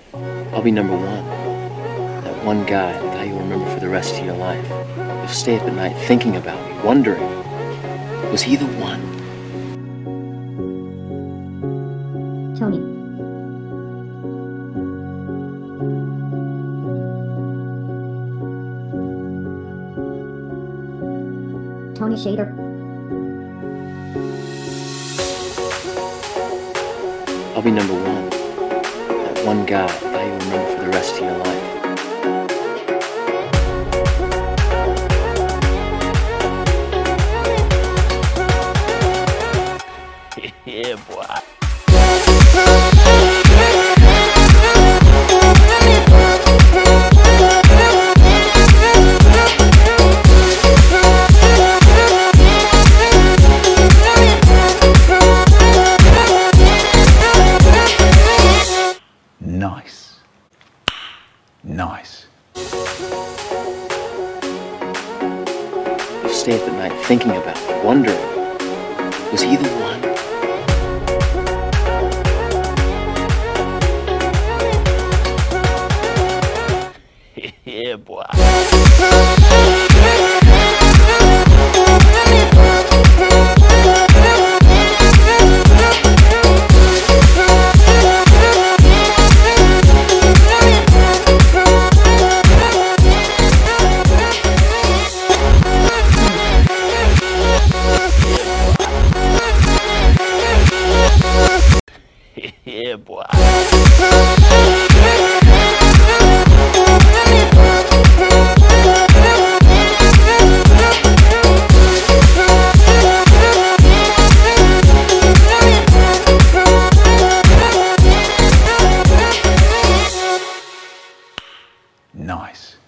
I'll be number one. That one guy, the guy you'll remember for the rest of your life. You'll stay up at night thinking about me, wondering, was he the one? Tony. Tony Shader. I'll be number one. That one guy, the guy you'll remember for the rest of your life. Yeah, boy. Nice. Nice. You'll stay up at night thinking about me, wondering, was he the one? Yeah, boy. Yeah, boy. Nice.